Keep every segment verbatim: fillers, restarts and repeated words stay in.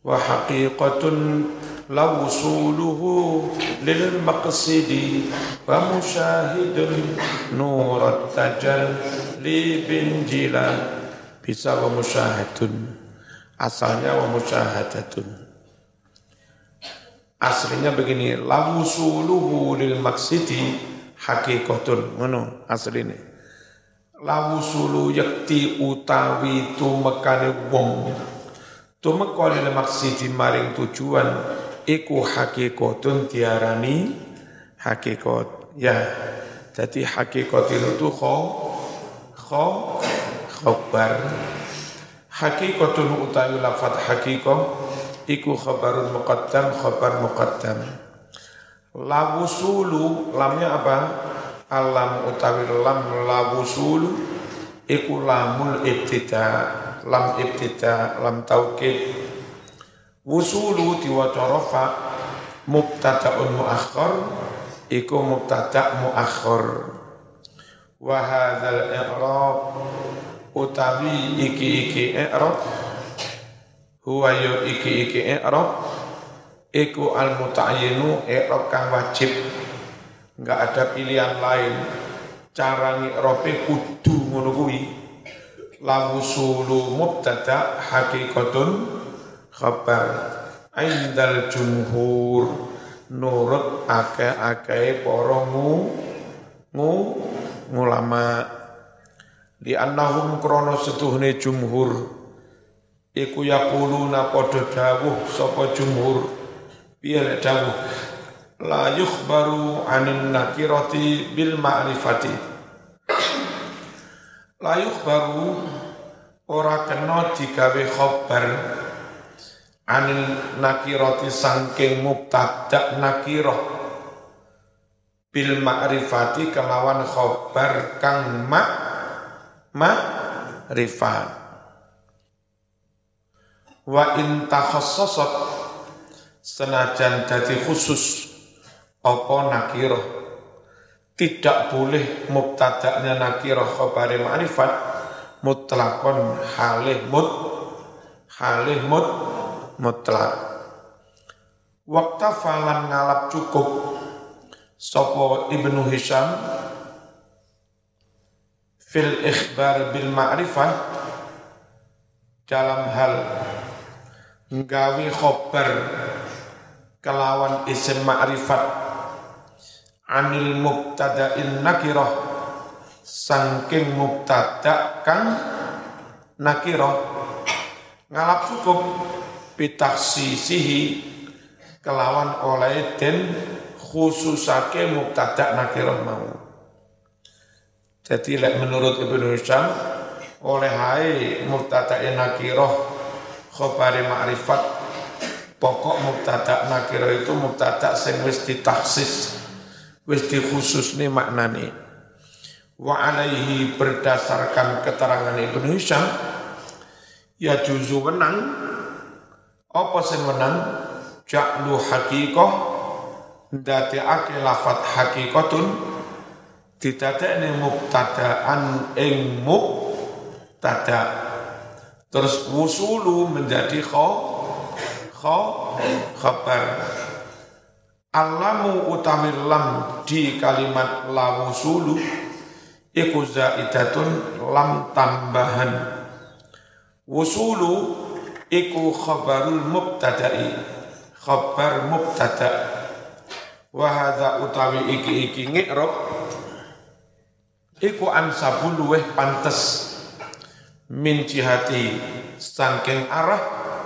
wa haqiqatun la wusuluhu lil maqsidi wa musyahidun nurat tajalli bin jila bisa wa musyahadun asalnya wa musyahadatun aslinya begini la wusuluhu lil maqsidi haqiqatun ngono asline la wusulu yakti utawi tumekane wong tumeka lil maqsidi maring tujuan iku hakikatun diarani hakikat ya jadi hakikat itu kho kho khabar hakikatun utawi lafaz hakikah iku khabarun muqaddam khabar muqaddam la wusulu lamnya apa alam utawi lam la wusulu iku lamul ibtida lam ibtida lam taukid wusulu diwaca rafa mubtada'un muakhkhar iku mubtada' muakhkhar wa hadzal i'rab utawi iki-iki i'rab huwa yu iki-iki i'rab iku al muta'ayyinu i'rab kang wajib enggak ada pilihan lain cara ngi'rabe kudu ngono kuwi la wusulu mubtada' haqiqatun khabar indal jumhur nurut akeh-akeh para ngu ngu ulama li annahum krana setuhne jumhur iku yaquluna padha dawuh sapa jumhur piye lek dawuh la yukhbaru anin nakirati bil ma'rifati la yukhbaru ora kena digawe khabar anil nakirati sangking mubtada' nakirah bil ma'rifati kelawan khabar kang ma ma'rifat wa in takhassasat senajan dadi khusus apa nakirah tidak boleh mubtada'nya nakirah khabari ma'rifat mutlaqon halih mut halih mut mutlak waqta falan ngalap cukup sapa Ibnu Hisham fil ikhbar bil ma'rifah dalam hal nggawi khabar kelawan isim ma'rifat anil mubtada'in nakirah sangking mubtada' kang nakirah ngalap cukup bitakhsisihi kelawan oleh den khususake mubtada' nakirah mau jadi lek menurut Ibnu Hisham oleh hai mubtada' nakirah khabari ma'rifat pokok mubtada' nakirah itu mubtada' sing wis ditakhsis wis dikhususne maknane wa alaihi berdasarkan keterangan Ibnu Hisham ya juzu menang apa sing menang ja'lu haqiqah ndadekake lafaz haqiqatun didadekne mubtada'an ing mubtada' terus wusulu menjadi kha kha khabar alamu utawi lam di kalimat la wusulu iku zaidatun lam tambahan wusulu iku khabarul mubtada'i khabar mubtada' wa hadza utawi iki-iki ngi'rab iku ansabul luweh pantes min jihati saking arah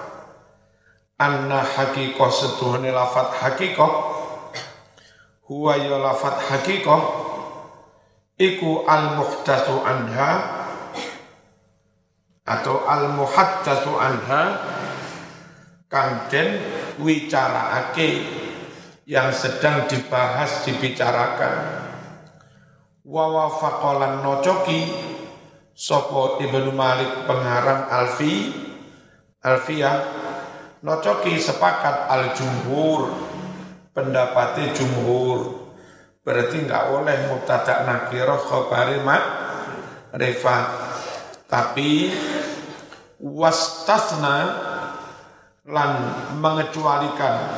anna haqiqah setuhane lafat haqiqah huwa ya lafat haqiqah iku al-muhdatsu anha atau al-muhaddatsu anha kang den wicaraake yang sedang dibahas dibicarakan wa wafaqalan nocoki sapa Ibnu Malik pengarang Alfi Alfiyah nocoki sepakat al-jumhur pendapatnya jumhur berarti enggak oleh mubtada' nakirah khabari ma'rifat tapi wastasna lan mengecualikan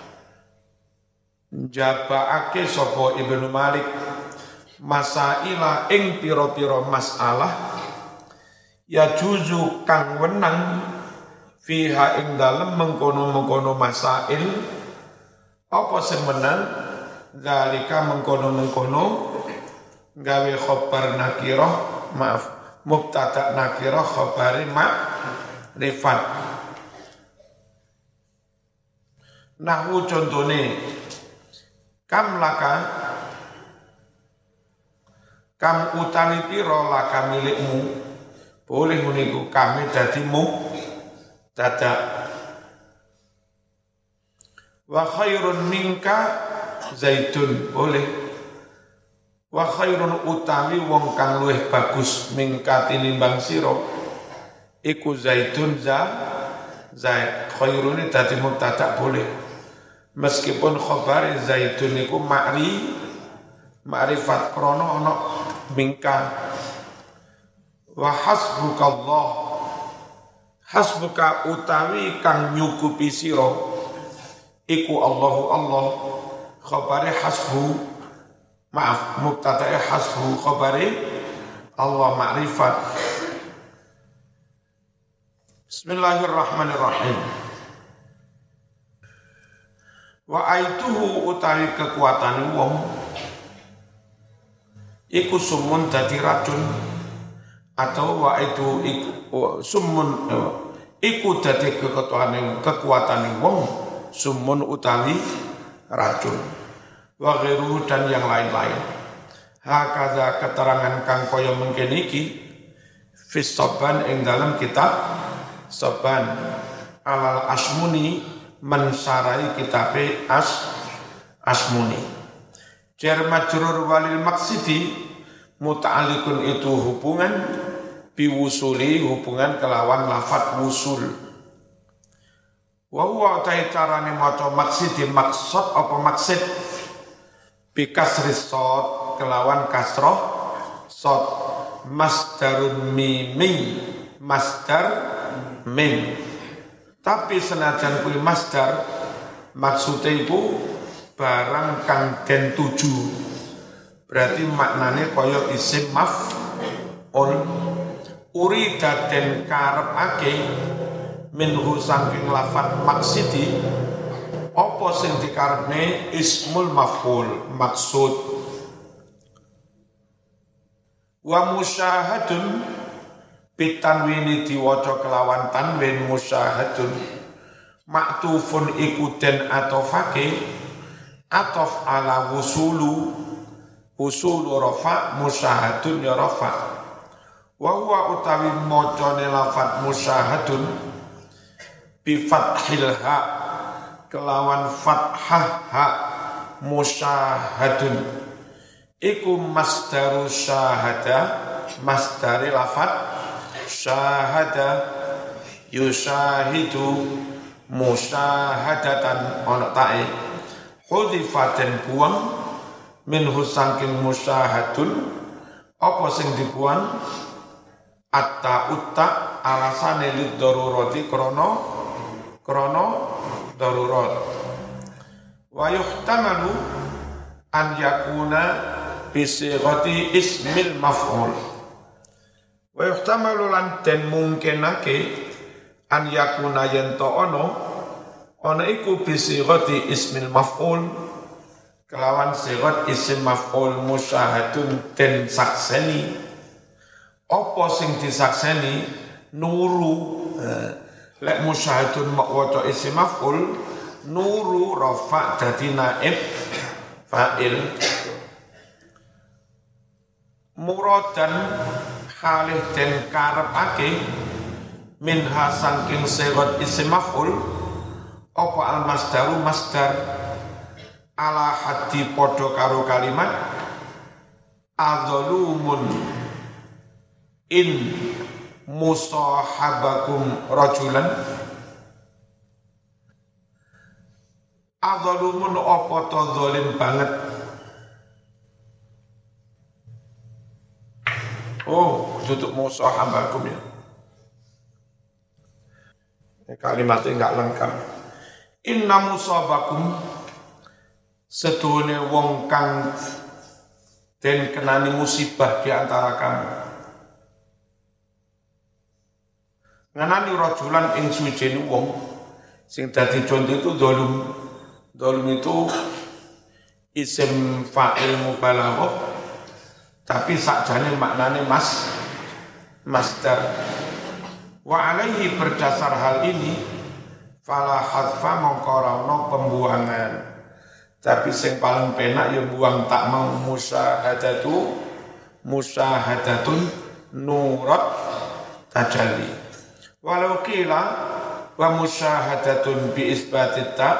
jabaake sapa Ibnu Malik masaila ing pira-pira masalah ya juzu kang wenang fiha ing dalem mengkono-mengkono masail apa sing menang zalika mengkono-mengkono gawe khobar nakirah maaf mubtada nakirah khobari ma'rifat. Nahwu contone kam laka kam utawi pira laka milikmu boleh muniku kami dadi mu dadak wa khairun minka zaitun boleh wa khairun utawi wong kang luwih bagus minka tinimbang sira iku zaitun za zait khairun dadi mubtada boleh meskipun khabar zaitun iku ma'ri ma'rifat krana ana minka wa hasbukallah hasbuka utawi kang nyukupi sira iku Allahu Allah khabari hasbu maaf mubtada'i hasbu khabari Allah ma'rifat. Bismillahirrahmanirrahim. Wa aituhu utawi kekuatan wong iku sumun dadi racun atau wa itu iku sumun iku dadi kekuatan kekuatan wong sumun utawi racun wa ghairuhu dan yang lain-lain. Hakaza keterangan kang kaya mengkene iki fis saban ing dalam kitab Saban alal Asmuni mensarai kitabe as Asmuni. Jar majrur walil maksidi muta'alliqun itu hubungan biwusuli hubungan kelawan lafat wusul. Wa huwa ta'i carane maca maksidi maksud apa maksud bi kasri shad kelawan kasroh shad masdarun mimi masdar mim tapi senajan kuwi masdar maksudnya iku barang kang den tuju berarti maknane kaya isim maf'ul urida den karepake minhu saking lafat maksidi apa sing dikarepne ismul maf'ul maksud wa musyahadun bitanwini diwaca kelawan tanwin musyahadun maktufun iku den atofake atof ala wusulu wusulu rafa musyahadun ya rafa wa huwa utawi macane lafat musyahadun bi fathil ha kelawan fathah ha musyahadun iku masdaru syahada masdari lafat syahada yushahidu musyahadatan ana ta'i hudifaten buang minhu saking musyahadun apa sing dibuang atta utta alasane lid darurati krana krana darurat wa yuhtamalu an yakuna bisighati ismil maf'ul wa yuhtamalu lan den mungkinake an yakuna yento ono ono iku bisighati ismil maf'ul kelawan sighat isim maf'ul musyahadun den sakseni apa sing disakseni nuru lek musyahadun mawaca isim maf'ul nuru rafa dadi naib fa'il muradan halih den karepake minha saking sighat isim maf'ul apa al masdaru masdar ala haddi podo karo kalimat adzalumun in musahabakum rajulan adzalumun apa to zalim banget. Oh, tutup musahabakum ya. kalimatnya enggak lengkap. Inna musabakum sedune wong kang den kenani musibah di antara kamu. Nganani rajulan ing suwijine wong sing dadi contoh itu dolum. Dolum itu isim fa'il mubalaghah tapi sakjane maknane mas masdar. Wa alaihi berdasar hal ini fala hadfa mongkorano pembuangan. Tapi yang paling penak ya buang tak mau musyahadatu musyahadatun nurat tajalli. Walau kila wa musyahadatun bi isbatit ta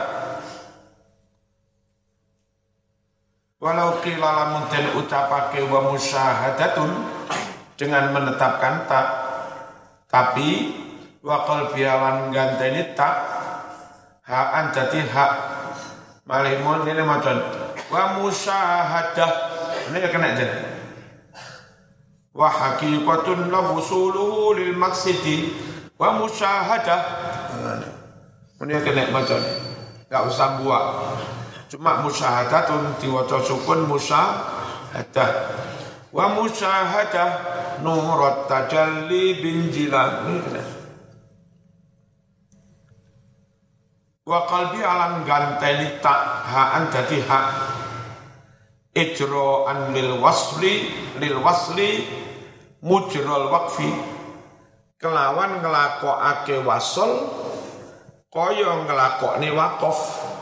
walau kila lamun den ucapake wa musyahadatun dengan menetapkan tak tapi wa qalbiyalan ganteni tak haan dadi hak malihmun ini macam wa musyahadah ini kena jadi wa haqiqatun la wusuluhu lil maqsidi wa musyahadah ini kena macam enggak usah buat cuma musyahadatun diwaca sukun musyahadah wa musyahadah nurat tajalli bin jilan ini kena wa qalbi alam ganteni tak haan dadi hak ijra'an lil wasli lil wasli mujral waqfi kelawan nglakokake wasol kaya nglakokne waqaf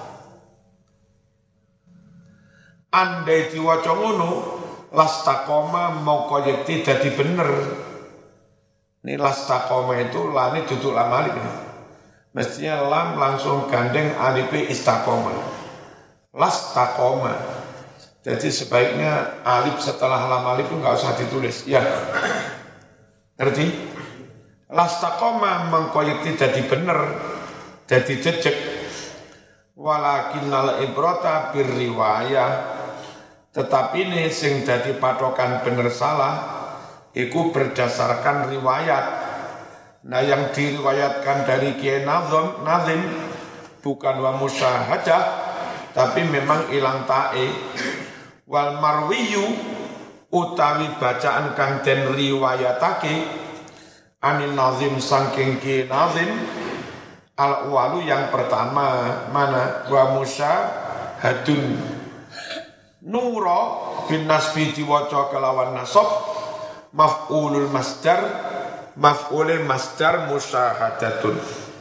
andai diwaca ngono lastaqoma moko yekti dadi bener ini lastaqoma itu lani duduk lamalik mestinya lam langsung gandeng alif istiqomah. Lastaqoma. Jadi sebaiknya alif setelah lam alif itu enggak usah ditulis. Ya. Ngerti? Lastaqoma mengkoyekti jadi bener, jadi jejeg. Walakinnal ibrata birriwayah. Tetapi ini sing dadi patokan bener salah iku berdasarkan riwayat. Nah yang diriwayatkan dari Kiai Nazim, Nazim bukan wa musyahadah tapi memang ilang ta'i wal marwiyu utawi bacaan kang den riwayatake anin Nazim saking Kiai Nazim al walu yang pertama mana wa musyahadun nura bin nasbi diwaca kelawan nasab maf'ulul masdar maf'ulil masdar musyahadatun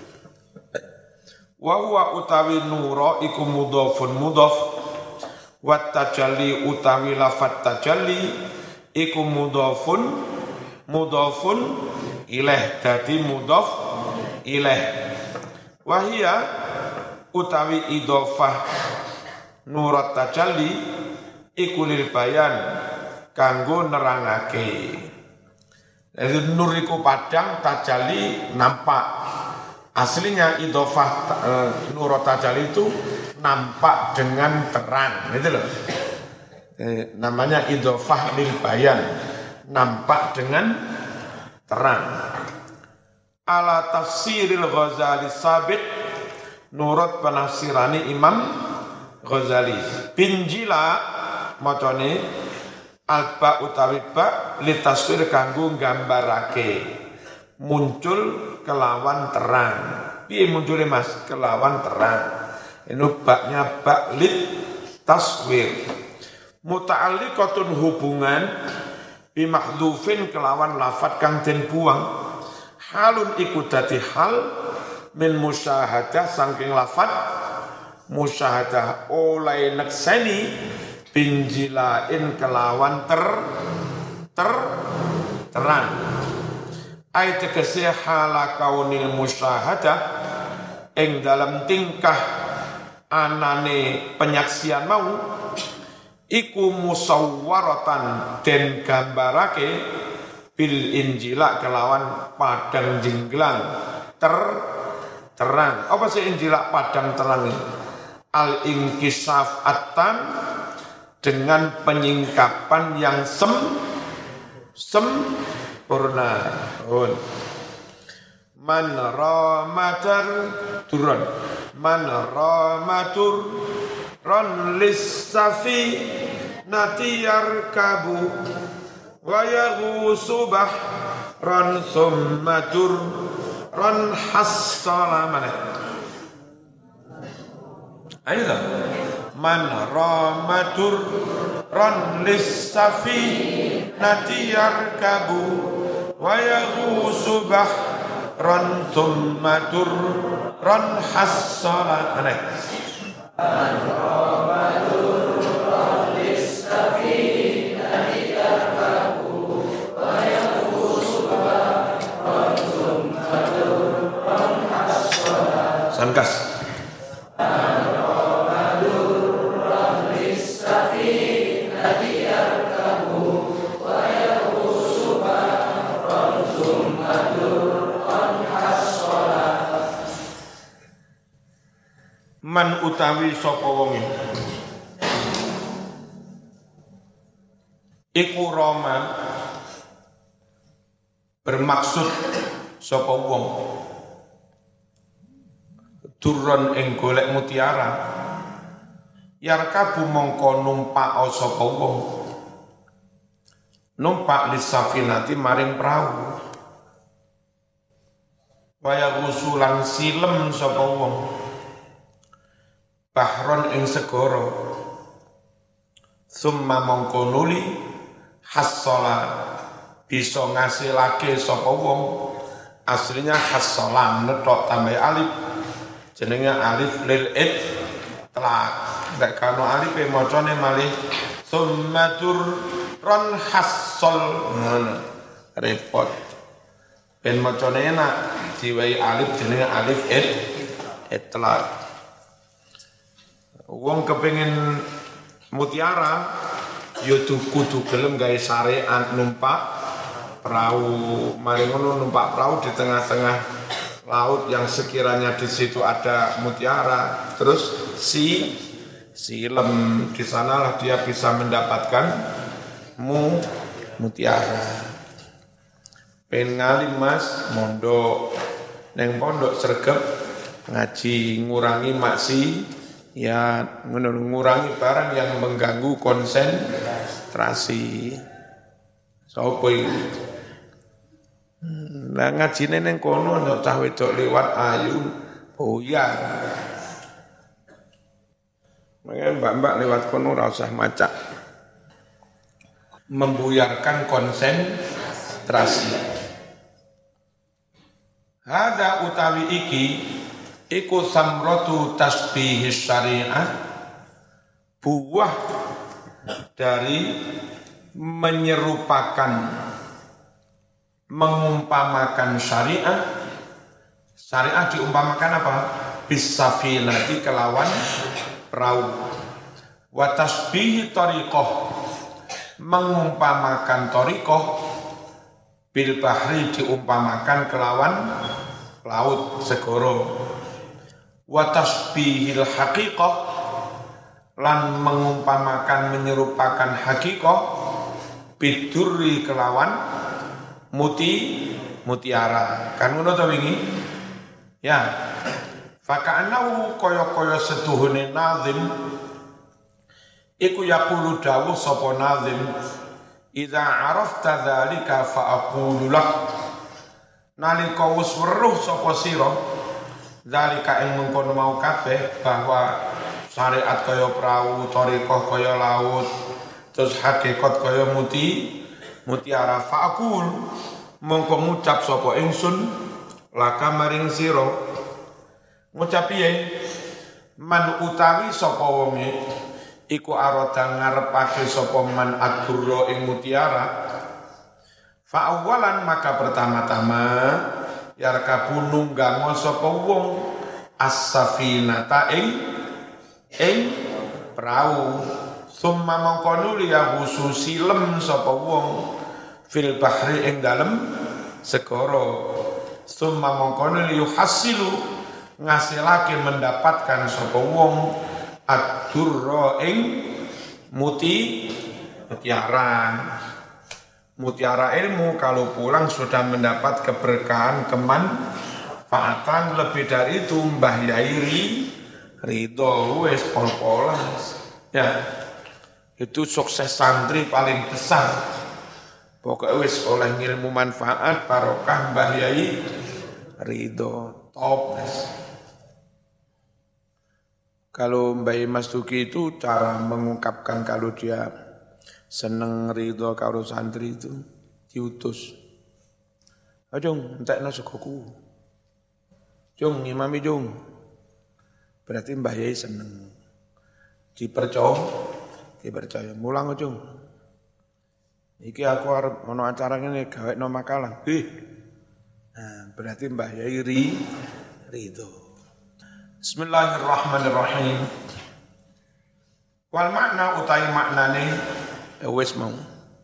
wa huwa utawi nura iku mudhafun mudhaf wa tajalli utawi lafat tajalli iku mudhafun mudhafun ilaih dadi mudhaf ilaih wa hiya utawi idhofah nurat tajalli iku lil bayan kanggo nerangake. Jadi nur iku padang tajalli nampak. Aslinya idhofah e, nur tajalli itu nampak dengan terang, gitu loh. E, namanya idhofah lil bayan, nampak dengan terang. Ala tafsiril Ghazali sabit nurut penafsirani Imam Ghazali. Binjila macane alba utawi ba litaswir kanggo gambarake muncul kelawan terang. Piye muncule Mas? Kelawan terang. Ini baknya bak lit taswir. Muta'alliqatun hubungan bi mahdhufin kelawan lafat kang den buang. Halun iku dadi hal min musyahadah saking lafat musyahadah oleh nekseni binjilain kelawan ter ter terang ay tegese hala kaunil musyahadah ing dalam tingkah anane penyaksian mau iku musawwaratan den gambarake bil injila kelawan padang jinglang ter terang apa sih injila padang terang ini al inkisaf atan dengan penyingkapan yang sem sempurna. man ramatar turun man ramatur ron lissafi natiyar kabu wa yaghusubah ron summatur ron hassala mana ayo dah man ramatur ron lissafi natiyar kabu wa yaghusubah ron summatur ron hassala mana Sangkas. Man utawi sapa wonge iku roma bermaksud sapa wong turun ing golek mutiara yarkabu mongko numpak sapa wong numpak lisafinati maring prau waya usulan silem sapa wong bahron ing segara summa mongko nuli hassala bisa ngasilake sapa wong aslinya hassalan netok tambah alif jenenge alif lil itlaq nek kano alif e macane malih summatur ron hassal ngono repot ben macane enak diwai alif jenenge alif it itlaq wong kepengin mutiara ya kudu gelem gawe syariat numpak perahu mari ngono numpak perahu di tengah-tengah laut yang sekiranya di situ ada mutiara terus si silem di sanalah dia bisa mendapatkan mu mutiara pengen ngalim mas mondok neng pondok sregep ngaji ngurangi maksi ya mengurangi barang yang mengganggu konsentrasi. Sopo iki? Lah ngajine ning kono ana cah wedok liwat ayu boyar. Mangke mbak-mbak lewat kono ora usah macak. Membuyarkan konsentrasi. Hada utawi iki iku samratu tasbihis syariah buah dari menyerupakan mengumpamakan syariah syariah diumpamakan apa bisafinati kelawan perahu wa tasbih tariqah mengumpamakan tariqah bil bahri diumpamakan kelawan laut segoro wa tasbihil haqiqah lan mengumpamakan menyerupakan haqiqah bidurri kelawan muti mutiara kan ngono to wingi ya faka'annahu kaya-kaya setuhune nazim iku yaqulu dawuh sapa nazim idza arafta dzalika fa aqulu lak nalika wis weruh sapa sira zalika ing mengkono mau kabeh bahwa syariat kaya perahu, thariqah kaya laut, terus hakikat kaya muti, mutiara fa'akul mongko ngucap sapa ingsun laka maring sira ngucap piye man utawi sapa wonge iku arada ngarepake sapa man adurra ing mutiara fa awalan maka pertama-tama yarkabu nunggango sapa wong as-safinata ing ing perahu summa mongko nuli ya khususi lem sapa wong fil bahri ing dalem segara summa mongko nuli yuhasilu ngasilake mendapatkan sapa wong ad-durra ing muti mutiara mutiara ilmu kalau pulang sudah mendapat keberkahan keman manfaatan, lebih dari itu Mbah Yai ri, ridho wis pol-polan. Ya, itu sukses santri paling besar. Pokoknya wis oleh ngilmu manfaat barokah Mbah Yai ridho top. Kalau Mbah Mas Duki itu cara mengungkapkan kalau dia seneng ridho karo santri itu diutus. Ajung, entekno segoku. Jung, imami jung. Berarti Mbah Yai seneng. Dipercaya, dipercaya. Mulang jung. Iki aku arep ono acara ngene gawekno makalah. Ih. Nah, berarti Mbah Yai ri ridho. Bismillahirrahmanirrahim. Wal makna utai maknane wis mau.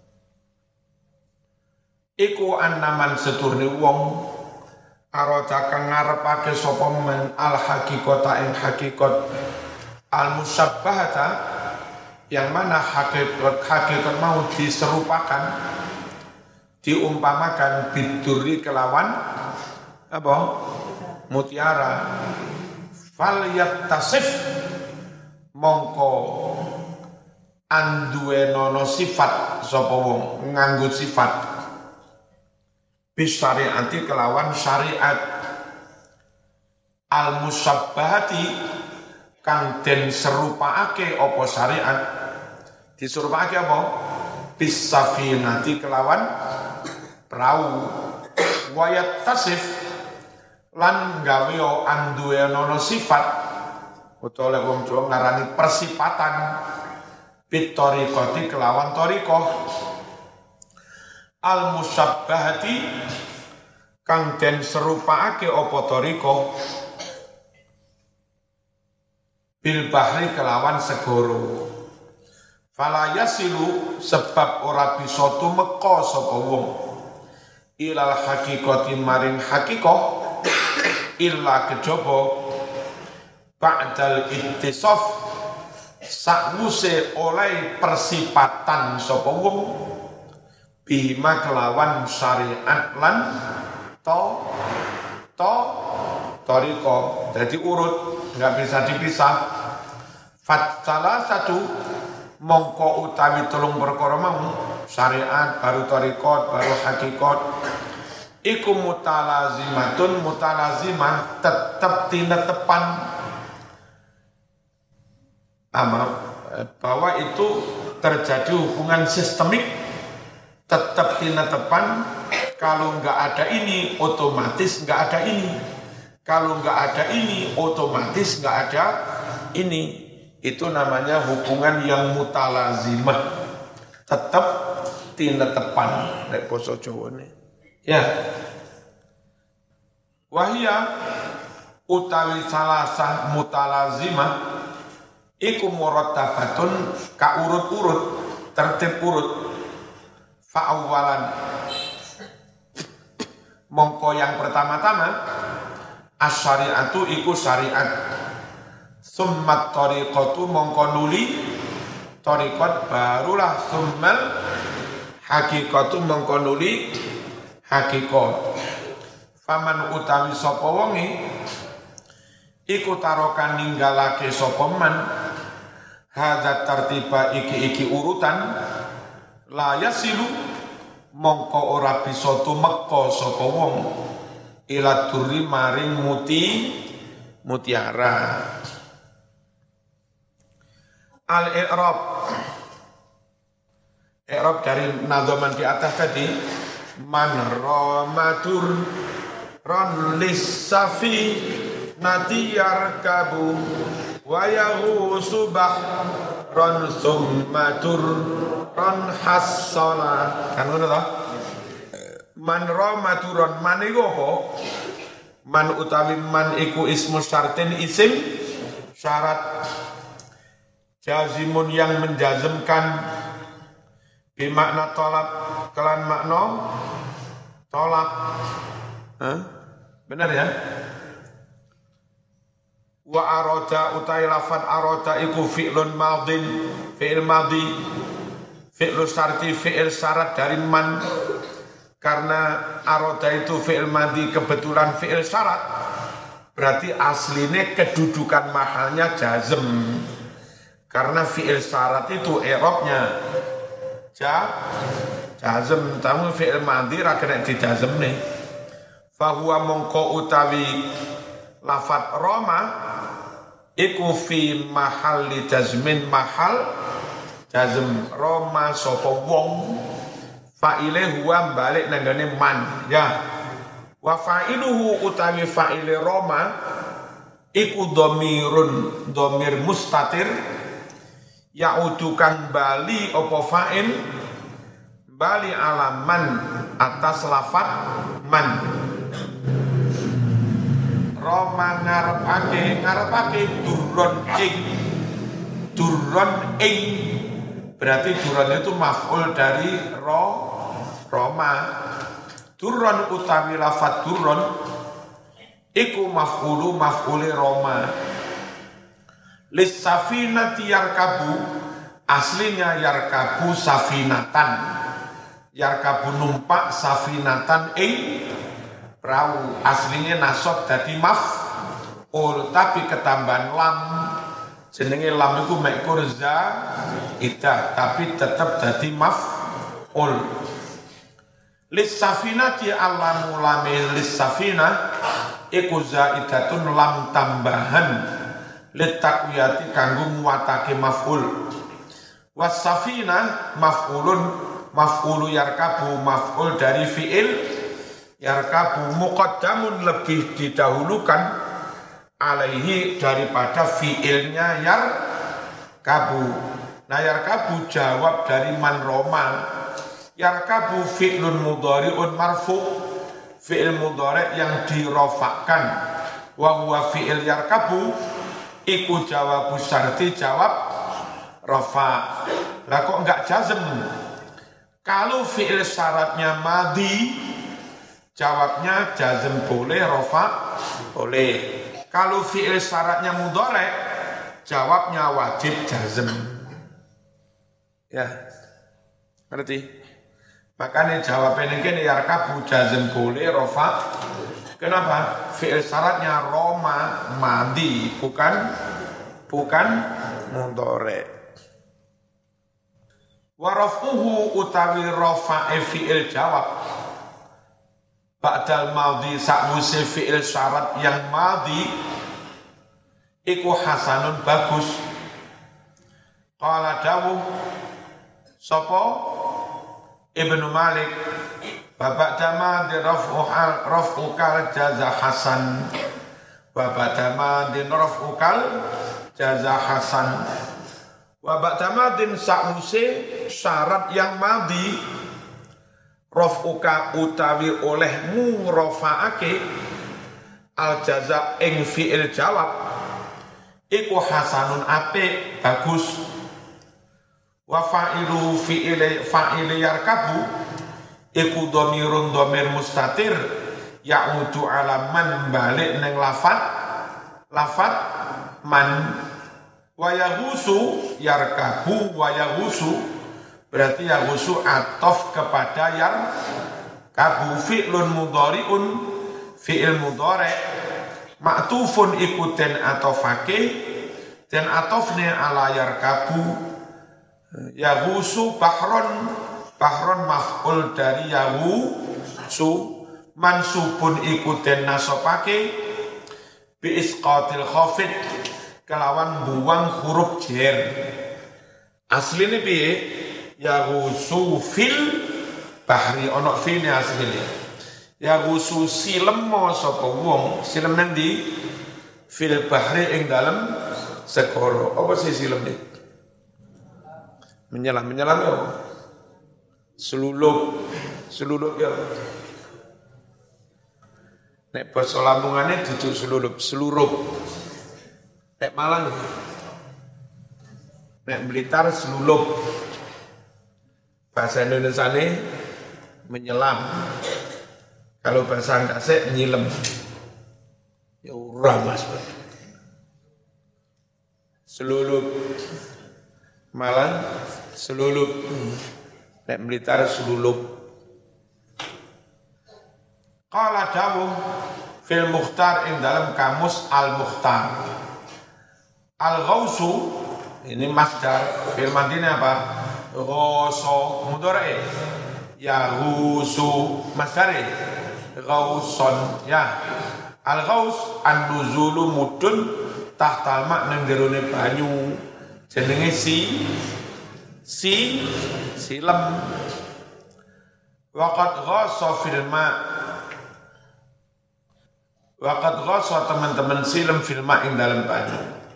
Iku annaman seturne wong arada kang ngarepake sapa men al haqiqata ing hakikat al musabbahata yang mana hakikat hakikat mau diserupakan diumpamakan biduri kelawan apa mutiara fal yattasif mongko anduwenono sifat sapa wong nganggo sifat bisyariati kelawan syariat al musabbahati kang den serupaake apa syariat diserupake apa bisafinati kelawan perahu wayat tasif lan gawe anduwenono sifat utawa lek wong Jawa ngarani persipatan bitoriqati kelawan toriqah al musabbahati kang den serupaake apa toriqah bil bahri kelawan segoro fala yasilu sebab ora bisa tumeka sapa wong ilal haqiqati maring haqiqah illa kejaba ba'dal ittisaf sakwuse oleh persipatan sapa wong bima kelawan syariat lan to to toriko jadi urut nggak bisa dipisah fat salah satu mongko utawi telung perkara mau syariat baru torikot baru hakikat iku mutalazimatun mutalazimah tetap tinetepan ama bahwa itu terjadi hubungan sistemik tetap tinetepan kalau nggak ada ini otomatis nggak ada ini kalau nggak ada ini otomatis nggak ada ini itu namanya hubungan yang mutalazimah tetap tinetepan nek basa Jawane ya wahia utawi salasah mutalazimah iku murattabatun ka urut-urut tertib urut fa'awalan mongko yang pertama-tama as-syari'atu iku syariat summat tariqatu mongko nuli tariqat barulah summal haqiqatu mongko nuli haqiqat faman utawi sapa wonge iku tarokan ninggalake sapa man hadza tartiba iki-iki urutan la yasilu mongko ora bisa tumeka sapa wong ila durri maring muti mutiara al-i'rab i'rab dari nadhaman di atas tadi man ramadur ron lissafi natiyar kabu wa yahu subah ron summatur ron hassala kan ngono ta man ramadur man iku apa man utawi man iku ismu syartin isim syarat jazimun yang menjazmkan bimakna tolak kelan makna tolak huh? Benar ya wa arada utai lafad arada iku fi'lun madin fi'il madhi fi'lu syarti fi'il syarat dari man Karena aroda itu fi'il madhi kebetulan fi'il syarat, berarti aslinya kedudukan mahalnya jazm. Karena fi'il syarat itu i'rabnya ja, jazm, tamu fi'il madhi ra kena dijazm nih. Fahuwa mongko utawi lafat Roma iku fi mahalli jazmin mahal jazm. Roma sopo wong fa'ile huwa balik nanggane man ya. Wa fa'iluhu utawi fa'ile Roma iku domirun domir mustatir ya'udu kang bali opo fa'il bali alaman atas lafat man. Roma ngarepake ngarepake durron ing durron ing berarti durron itu maf'ul dari ro Roma. Durron utawi lafat durron iku maf'ulu maf'uli Roma. Lis safinati yarkabu aslinya yarkabu safinatan. Yarkabu numpak safinatan ing perahu, aslinya nasab dadi maf'ul tapi ketambahan lam. Jenenge lam iku mekkur za ida tapi tetap dadi maf'ul. Lis safinati alamu lami lis safina iku zaidatun lam tambahan lit takwiyati kanggo nguwatake maf'ul. Was safina maf'ulun maf'ulu yarkabu maf'ul dari fi'il yarkabu muqaddamun lebih didahulukan alaihi daripada fi'ilnya yarkabu. Nah yarkabu jawab dari man Roma. Yarkabu fi'lun mudhari'un marfu' fi'il mudhari' yang dirofakkan. Wa huwa fi'il yarkabu iku jawabu syarti jawab rofa. Lah kok enggak jazm? Kalau fi'il syaratnya madhi jawabnya jazm boleh, rofa boleh. Kalau fi'il syaratnya mudhari' jawabnya wajib jazm. Ya, ngerti? Makanya jawabnya ini yarkabu jazm boleh, rofa. Kenapa? Fi'il syaratnya Roma madhi bukan bukan mudhari'. Wa rafuhu utawi rafa'i fi'il jawab ba'dal madhi sa'wuse fi'il syarat yang madhi iku hasanun bagus. Qala dawuh sapa Ibnu Malik babak dama di raf'uhal raf'ukal jaza hasan babak dama di raf'ukal jaza hasan babak dama din sa'use syarat yang madhi raf'uka utawi olehmu rafa'ake al jaza ing fi'il jawab iku hasanun apik bagus. Wa fa'ilu fi'ili fa'ili yarkabu iku dhamirun dhamir mustatir ya'udu ala man balik neng lafat lafat man. Wa yahusu yarkabu wa yahusu berarti yahusu atof kepada yarkabu fi'lun mudhari'un fi'il mudhari' ma'tufun ikutin atofake dan atofnya ala yarkabu. Yahusu bahron bahron maf'ul dari yahusu mansubun ikutin nasopake bi isqatil khafid kelawan buang huruf jer. Asline piye? Yahusu fil bahri ono fil asline. Yahusu silem sapa wong silem nang ndi fil bahri ing dalem segara. Apa sih silem iki? Menyelam, menyelam ya selulup, selulup ya. Nek basa Lamongan duduk selulup, selurup. Nek Malang, nek Blitar selulup. Bahasa Indonesia ini menyelam. Kalau bahasa Angkasek nyilem. Ya ora Mas. Selulup. Malang selulup, nek Blitar selulup. Qala dawuh fil Mukhtar ing dalam kamus Al Mukhtar. Al Ghausu ini masdar fil madina apa? Ghoso mudhari. Ya ghusu masdari. Ghauson ya. Al Ghaus an-nuzulu mudun tahtal mak nang jerone banyu. Jenenge si si silem. Waqad ghasa fil ma' waqad ghasa teman-teman silem fil ma' ing dalam banyu.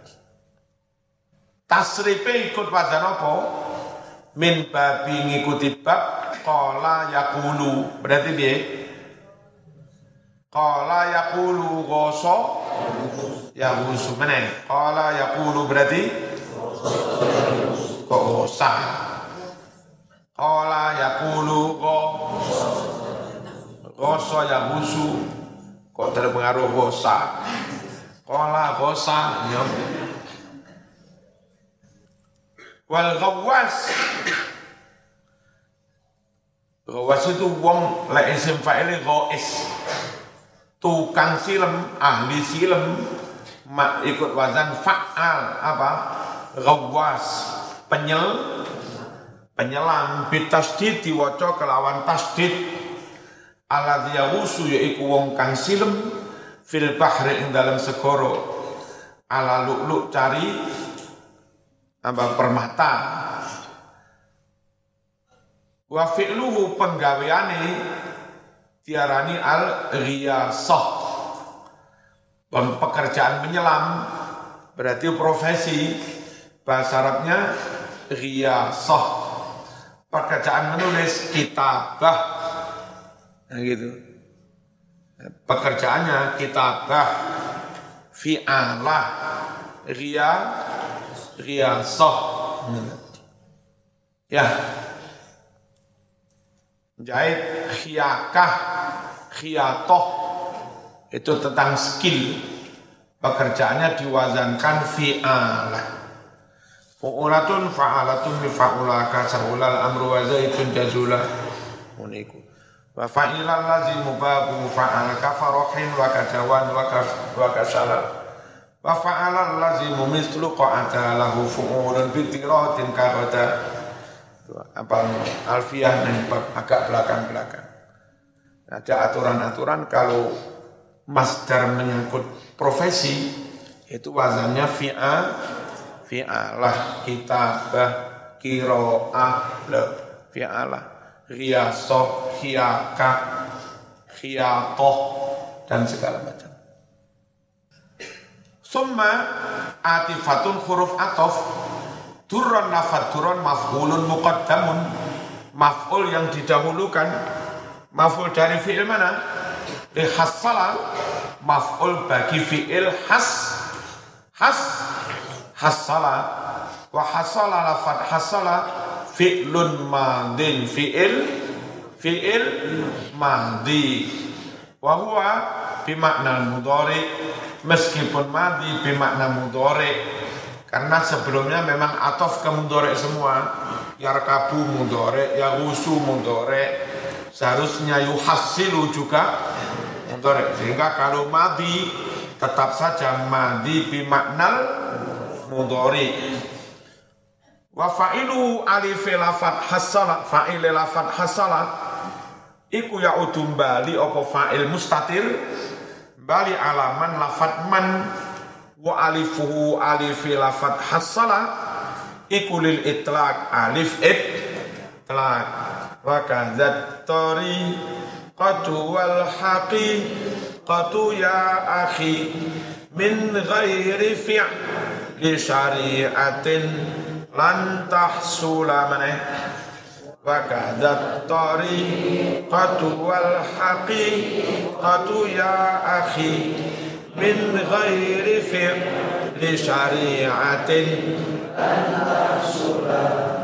Tasrife ikut wazan apa? Min babi ngikuti bab qala yaqulu. Berarti piye? Qala yaqulu ghasa ya ghusu meneh. Qala yaqulu berarti kok ghasa. Qala yaqulu ghasa ya ghusu kok terpengaruh ghasa. Qala ghasa ya. Wal ghawwas ghawwas itu wong lek isim fa'il ghais tukang silem ahli silem mak ikut wazan fa'al apa ghawwas penyel penyelam bitasdid diwaca kelawan tasdid alladzi yaghusu yaiku wong kang silem fil bahri ing dalam segara ala lu'lu' cari apa permata wa fi'luhu penggaweane diarani al-ghiyasah pekerjaan menyelam berarti profesi bahasa Arabnya ghiyasah pekerjaan menulis kitabah nah gitu pekerjaannya kitabah fi'alah ghia ghiyasah ya jahit khiyakah khiyatoh itu tentang skill pekerjaannya diwazankan fi'alah fu'ulatun fa'alatun mifa'ulaka sahulal amru wa zaitun jazula uniku wa fa'ilal lazimu babu fa'alaka farohin wa kajawan wa kasalah wa fa'alal lazimu mislu qa'ata lahu fu'ulun bitiratin karota apa alfiah dan agak belakang-belakang ada aturan-aturan kalau masdar menyangkut profesi itu wazannya fi'a fi'alah kitabah kiro'ah le fi'alah riyasoh khiyakah khiyatoh dan segala macam. Summa atifatun huruf atof durron nafat durron maf'ulun muqaddamun maf'ul yang didahulukan maf'ul dari fi'il mana? Hassala maf'ul bagi fi'il has has hassala wa hassala lafat hassala fi'lun madin fi'il fi'il madi wa huwa bimakna mudhari meskipun madi bimakna mudhari karena sebelumnya memang atof ke mudhari semua yarkabu mudhari yaghusu mudhari seharusnya yuhassilu juga mudhari sehingga kalau madi tetap saja madi bimaknal mudhari wa fa'ilu alif lafat hasala fa'il lafat hasala iku ya'udum bali apa fa'il mustatir bali alaman lafat man wa alifuhu alif lafat hasala iku lil itlaq alif itlaq wa kadzat tari qatu wal haqi qatu ya akhi min ghairi fi'li syari'atin lan tahsula maneh wa kadzat tariqatu wal haqiqatu ya akhi min ghairi fi'li syari'atin lan tahsula